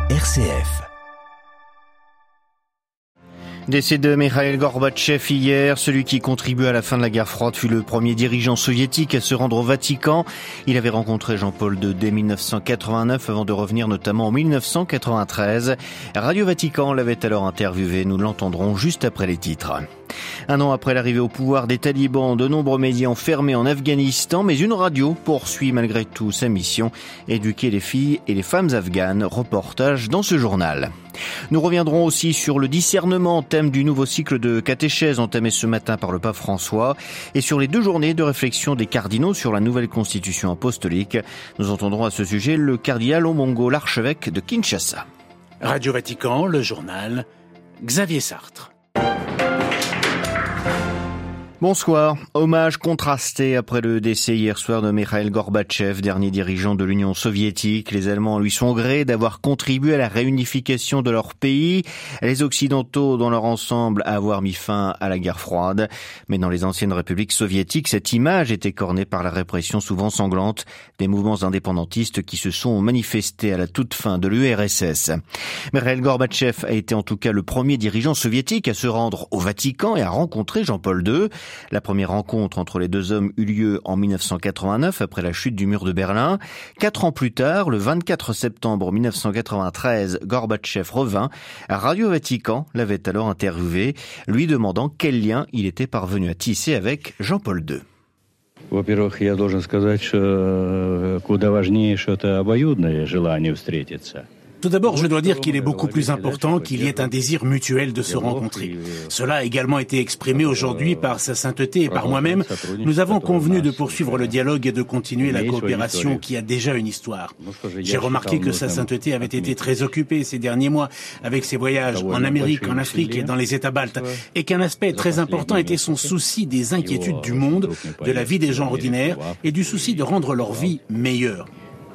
RCF. Décès de Mikhaïl Gorbatchev hier, celui qui contribue à la fin de la guerre froide fut le premier dirigeant soviétique à se rendre au Vatican. Il avait rencontré Jean-Paul II dès 1989 avant de revenir notamment en 1993. Radio Vatican l'avait alors interviewé, nous l'entendrons juste après les titres. Un an après l'arrivée au pouvoir des talibans, de nombreux médias ont fermé en Afghanistan, mais une radio poursuit malgré tout sa mission, éduquer les filles et les femmes afghanes. Reportage dans ce journal. Nous reviendrons aussi sur le discernement, thème du nouveau cycle de catéchèse entamé ce matin par le pape François, et sur les 2 journées de réflexion des cardinaux sur la nouvelle constitution apostolique. Nous entendrons à ce sujet le cardinal Omongo, l'archevêque de Kinshasa. Radio Vatican, le journal, Xavier Sartre. Bonsoir. Hommage contrasté après le décès hier soir de Mikhaïl Gorbatchev, dernier dirigeant de l'Union soviétique. Les Allemands lui sont gré d'avoir contribué à la réunification de leur pays. Les Occidentaux, dans leur ensemble, à avoir mis fin à la guerre froide. Mais dans les anciennes républiques soviétiques, cette image était cornée par la répression souvent sanglante des mouvements indépendantistes qui se sont manifestés à la toute fin de l'URSS. Mikhaïl Gorbatchev a été en tout cas le premier dirigeant soviétique à se rendre au Vatican et à rencontrer Jean-Paul II. La première rencontre entre les 2 hommes eut lieu en 1989 après la chute du mur de Berlin. 4 ans plus tard, le 24 septembre 1993, Gorbatchev revint. Radio Vatican l'avait alors interviewé, lui demandant quel lien il était parvenu à tisser avec Jean-Paul II. Во-первых, я должен сказать, что куда важнее, что это обоюдное желание встретиться. Tout d'abord, je dois dire qu'il est beaucoup plus important qu'il y ait un désir mutuel de se rencontrer. Cela a également été exprimé aujourd'hui par Sa Sainteté et par moi-même. Nous avons convenu de poursuivre le dialogue et de continuer la coopération qui a déjà une histoire. J'ai remarqué que Sa Sainteté avait été très occupée ces derniers mois avec ses voyages en Amérique, en Afrique et dans les États baltes, et qu'un aspect très important était son souci des inquiétudes du monde, de la vie des gens ordinaires et du souci de rendre leur vie meilleure.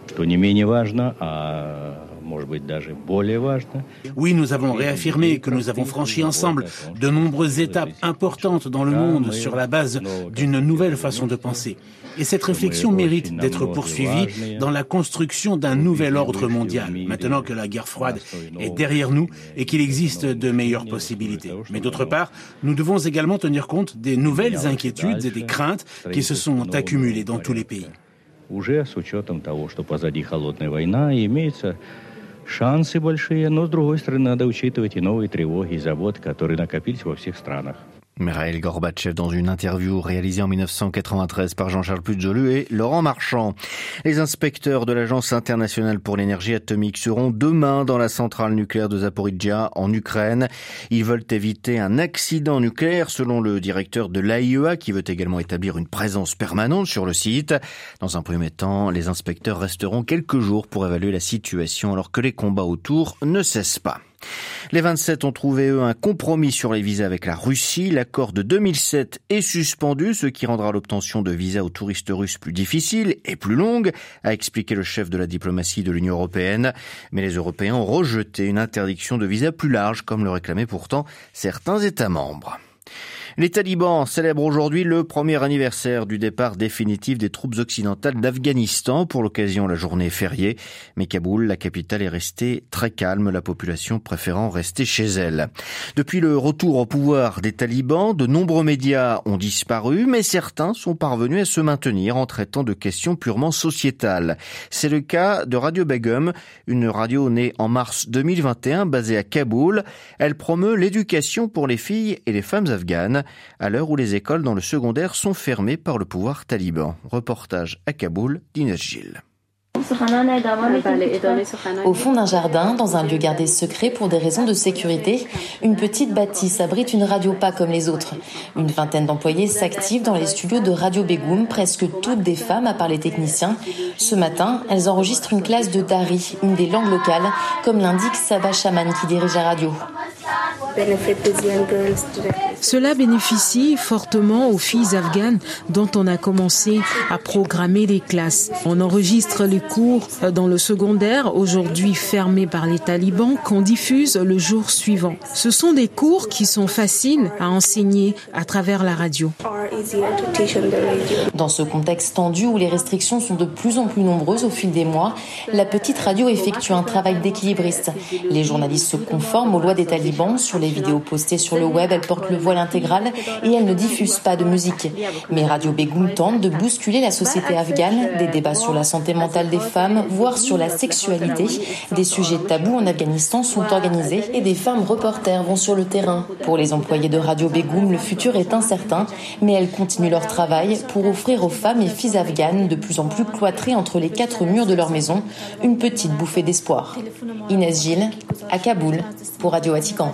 Oui, nous avons réaffirmé que nous avons franchi ensemble de nombreuses étapes importantes dans le monde sur la base d'une nouvelle façon de penser. Et cette réflexion mérite d'être poursuivie dans la construction d'un nouvel ordre mondial, maintenant que la guerre froide est derrière nous et qu'il existe de meilleures possibilités. Mais d'autre part, nous devons également tenir compte des nouvelles inquiétudes et des craintes qui se sont accumulées dans tous les pays. Уже с учетом того, что позади холодная война, имеются шансы большие, но, с другой стороны, надо учитывать и новые тревоги и заботы, которые накопились во всех странах. Mikhaïl Gorbatchev dans une interview réalisée en 1993 par Jean-Charles Pujolu et Laurent Marchand. Les inspecteurs de l'Agence internationale pour l'énergie atomique seront demain dans la centrale nucléaire de Zaporijia en Ukraine. Ils veulent éviter un accident nucléaire selon le directeur de l'AIEA qui veut également établir une présence permanente sur le site. Dans un premier temps, les inspecteurs resteront quelques jours pour évaluer la situation alors que les combats autour ne cessent pas. Les 27 ont trouvé, eux, un compromis sur les visas avec la Russie. L'accord de 2007 est suspendu, ce qui rendra l'obtention de visas aux touristes russes plus difficile et plus longue, a expliqué le chef de la diplomatie de l'Union européenne. Mais les Européens ont rejeté une interdiction de visa plus large, comme le réclamaient pourtant certains États membres. Les talibans célèbrent aujourd'hui le premier anniversaire du départ définitif des troupes occidentales d'Afghanistan. Pour l'occasion, la journée est fériée. Mais Kaboul, la capitale, est restée très calme, la population préférant rester chez elle. Depuis le retour au pouvoir des talibans, de nombreux médias ont disparu, mais certains sont parvenus à se maintenir en traitant de questions purement sociétales. C'est le cas de Radio Begum, une radio née en mars 2021, basée à Kaboul. Elle promeut l'éducation pour les filles et les femmes afghanes, à l'heure où les écoles dans le secondaire sont fermées par le pouvoir taliban. Reportage à Kaboul d'Inès Gilles. Au fond d'un jardin, dans un lieu gardé secret pour des raisons de sécurité, une petite bâtisse abrite une radio pas comme les autres. Une vingtaine d'employés s'activent dans les studios de Radio Begum, presque toutes des femmes à part les techniciens. Ce matin, elles enregistrent une classe de Dari, une des langues locales, comme l'indique Saba Shaman qui dirige la radio. Cela bénéficie fortement aux filles afghanes dont on a commencé à programmer les classes. On enregistre les cours dans le secondaire, aujourd'hui fermés par les talibans, qu'on diffuse le jour suivant. Ce sont des cours qui sont faciles à enseigner à travers la radio. Dans ce contexte tendu où les restrictions sont de plus en plus nombreuses au fil des mois, la petite radio effectue un travail d'équilibriste. Les journalistes se conforment aux lois des talibans. Sur les vidéos postées sur le web, elle porte le voile intégral et elle ne diffuse pas de musique. Mais Radio Begum tente de bousculer la société afghane, des débats sur la santé mentale des femmes, voire sur la sexualité. Des sujets tabous en Afghanistan sont organisés et des femmes reporters vont sur le terrain. Pour les employés de Radio Begum, le futur est incertain, mais elles continuent leur travail pour offrir aux femmes et filles afghanes de plus en plus cloîtrées entre les quatre murs de leur maison une petite bouffée d'espoir. Inès Gilles, à Kaboul, pour Radio Vatican.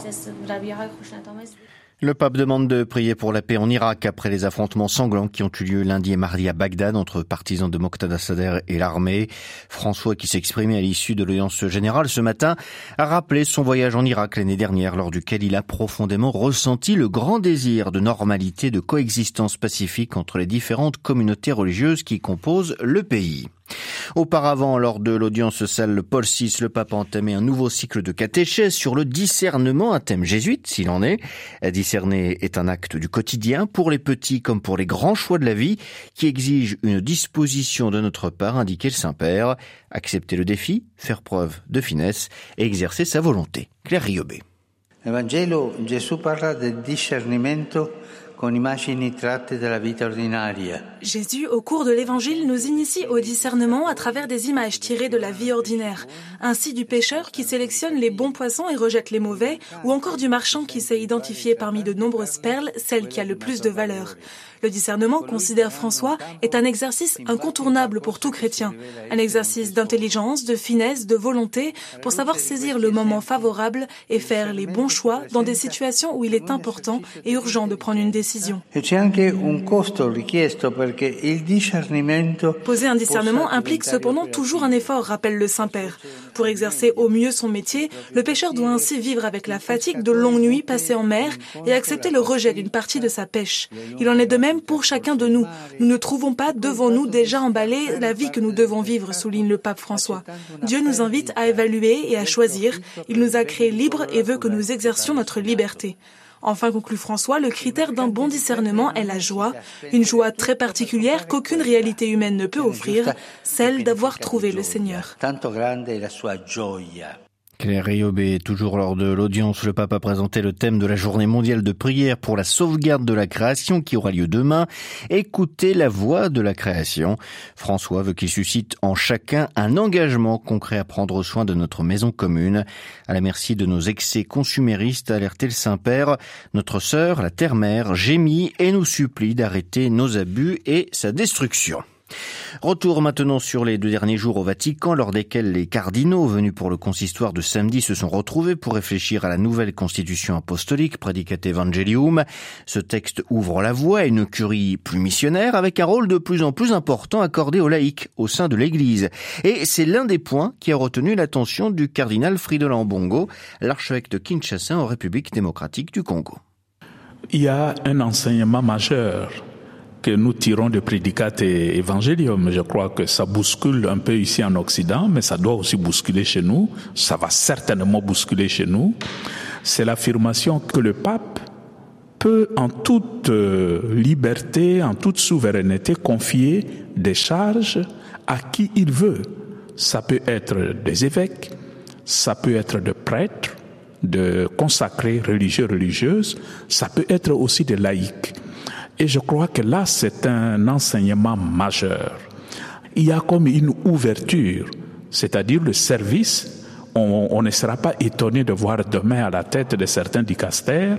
Le pape demande de prier pour la paix en Irak après les affrontements sanglants qui ont eu lieu lundi et mardi à Bagdad entre partisans de Moqtada Sadr et l'armée. François, qui s'exprimait à l'issue de l'audience générale ce matin, a rappelé son voyage en Irak l'année dernière, lors duquel il a profondément ressenti le grand désir de normalité, de coexistence pacifique entre les différentes communautés religieuses qui composent le pays. Auparavant, lors de l'audience salle Paul VI, le pape a entamé un nouveau cycle de catéchèse sur le discernement, un thème jésuite s'il en est. Discerner est un acte du quotidien pour les petits comme pour les grands choix de la vie qui exigent une disposition de notre part, indiquait le Saint-Père. Accepter le défi, faire preuve de finesse et exercer sa volonté. Claire Riobé. Nell'Evangelo Gesù parla del discernimento con immagini tratte dalla vita ordinaria. Jésus, au cours de l'Évangile, nous initie au discernement à travers des images tirées de la vie ordinaire. Ainsi du pêcheur qui sélectionne les bons poissons et rejette les mauvais, ou encore du marchand qui sait identifier parmi de nombreuses perles celle qui a le plus de valeur. Le discernement, considère François, est un exercice incontournable pour tout chrétien. Un exercice d'intelligence, de finesse, de volonté, pour savoir saisir le moment favorable et faire les bons choix dans des situations où il est important et urgent de prendre une décision. Poser un discernement implique cependant toujours un effort, rappelle le Saint-Père. Pour exercer au mieux son métier, le pêcheur doit ainsi vivre avec la fatigue de longues nuits passées en mer et accepter le rejet d'une partie de sa pêche. Il en est de même pour chacun de nous. Nous ne trouvons pas devant nous déjà emballé la vie que nous devons vivre, souligne le pape François. Dieu nous invite à évaluer et à choisir. Il nous a créés libres et veut que nous exercions notre liberté. Enfin, conclut François, le critère d'un bon discernement est la joie, une joie très particulière qu'aucune réalité humaine ne peut offrir, celle d'avoir trouvé le Seigneur. Claire Riobé, toujours lors de l'audience, le pape a présenté le thème de la journée mondiale de prière pour la sauvegarde de la création qui aura lieu demain. Écoutez la voix de la création. François veut qu'il suscite en chacun un engagement concret à prendre soin de notre maison commune. À la merci de nos excès consuméristes, a alerté le Saint-Père, notre sœur, la Terre-Mère, gémit et nous supplie d'arrêter nos abus et sa destruction. Retour maintenant sur les 2 derniers jours au Vatican, lors desquels les cardinaux venus pour le consistoire de samedi se sont retrouvés pour réfléchir à la nouvelle constitution apostolique, Praedicate Evangelium. Ce texte ouvre la voie à une curie plus missionnaire, avec un rôle de plus en plus important accordé aux laïcs au sein de l'Église. Et c'est l'un des points qui a retenu l'attention du cardinal Fridolin Ambongo, l'archevêque de Kinshasa en République démocratique du Congo. Il y a un enseignement majeur que nous tirons de Praedicate Evangelium. Je crois que ça bouscule un peu ici en Occident, mais ça doit aussi bousculer chez nous. Ça va certainement bousculer chez nous. C'est l'affirmation que le pape peut en toute liberté, en toute souveraineté, confier des charges à qui il veut. Ça peut être des évêques, ça peut être des prêtres, de consacrés religieux, religieuses, ça peut être aussi des laïcs. Et je crois que là, c'est un enseignement majeur. Il y a comme une ouverture, c'est-à-dire le service. On ne sera pas étonné de voir demain à la tête de certains dicastères,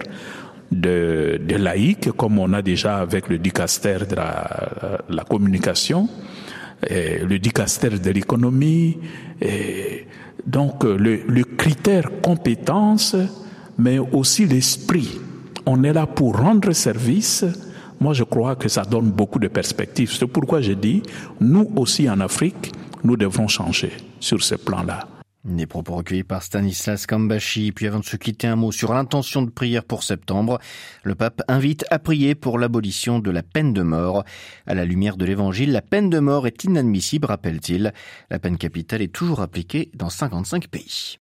de laïcs, comme on a déjà avec le dicastère de la communication, et le dicastère de l'économie. Et donc, le critère compétence, mais aussi l'esprit. On est là pour rendre service. Moi, je crois que ça donne beaucoup de perspectives. C'est pourquoi je dis, nous aussi en Afrique, nous devrons changer sur ce plan-là. Des propos recueillis par Stanislas Cambashi. Puis avant de se quitter, un mot sur l'intention de prière pour septembre. Le pape invite à prier pour l'abolition de la peine de mort. À la lumière de l'évangile, la peine de mort est inadmissible, rappelle-t-il. La peine capitale est toujours appliquée dans 55 pays.